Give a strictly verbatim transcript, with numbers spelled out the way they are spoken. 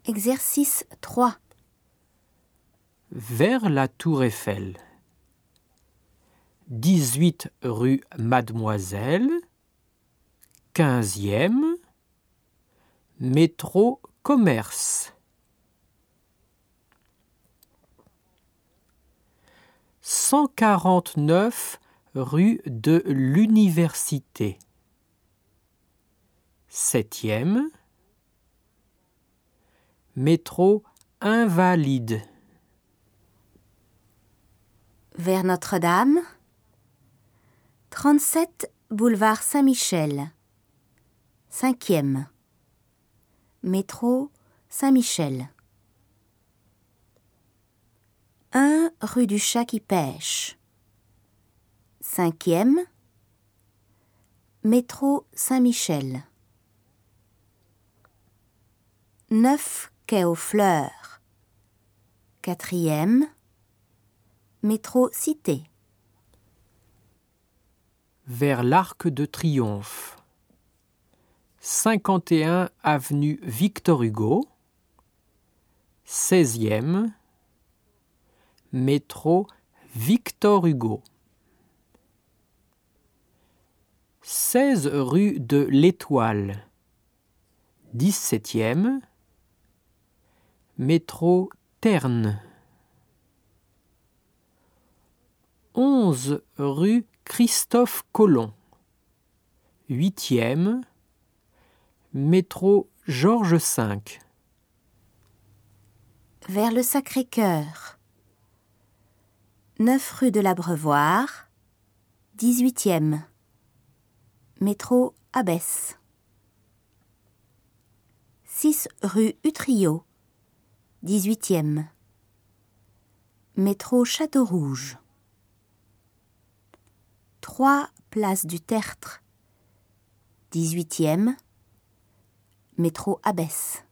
Exercice trois. Vers la Tour Eiffel. dix-huit rue Mademoiselle, quinzième, métro Commerce. cent quarante-neuf rue de l'Université, septième, métro Invalide. Vers Notre-Dame. trente-sept boulevard Saint-Michel, cinquième, métro Saint-Michel. un rue du Chat qui pêche, cinquième, métro Saint-Michel. neuf quai aux Fleurs, quatrième, métro Cité. Vers l'Arc de Triomphe. cinquante et un avenue Victor Hugo, seizième, métro Victor Hugo. seize rue de l'Étoile, dix-septième, métro Terne. onze rue Christophe Colomb, huitième, métro Georges cinq. Vers le Sacré-Cœur. neuf rue de l'Abreuvoir, dix-huitième, métro Abbesse. six rue Utrillo, dix-huitième, métro Château-Rouge. trois place du Tertre, dix-huitième, métro Abbesse.